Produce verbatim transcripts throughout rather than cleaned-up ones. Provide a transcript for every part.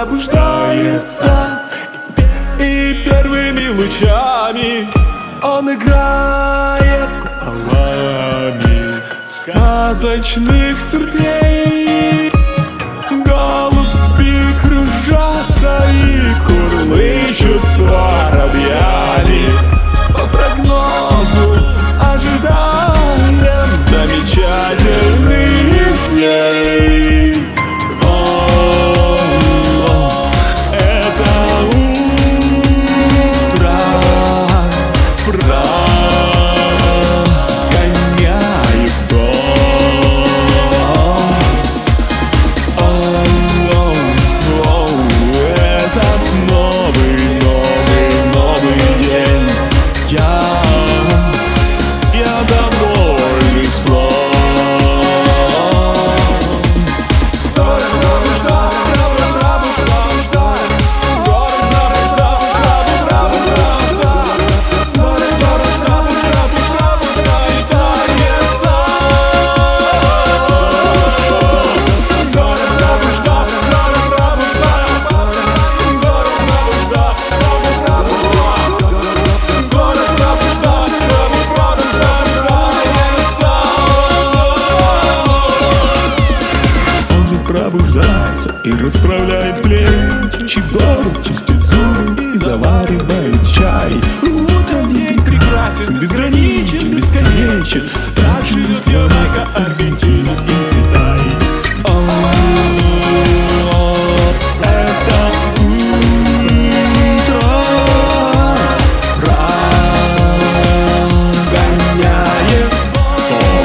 пробуждается, и первыми лучами он играет куполами сказочных церквей. Голуби кружатся и курлычут с воробьями. По прогнозу ожидаем замечательных дней. О, это утро прогоняет сон. О, о, этот новый, новый, новый день. Я, я довольный слон. Пробуждается и расправляет плечи, гору чистит зубы и заваривает чай. Утренний день прекрасен, безграничен, бесконечен. Так живет Ямайка, Аргентина и Китай. О, это утро прогоняет сон.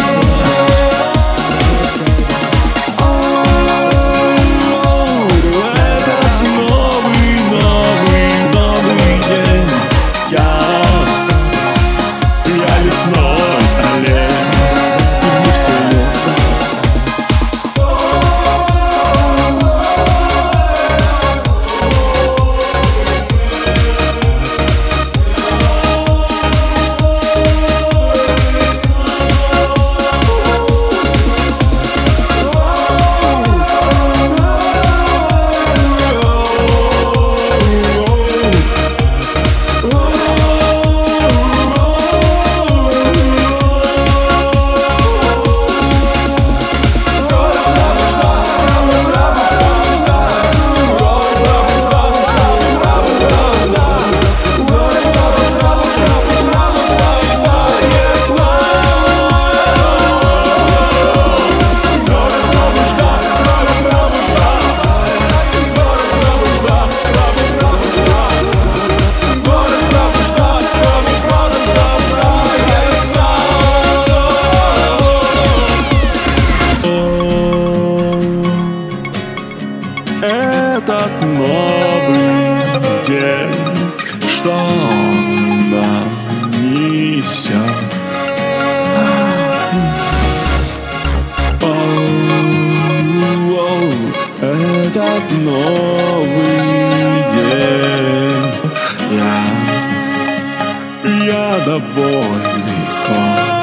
Этот новый день, что он нам несет. Оу, этот новый день, я, я довольный.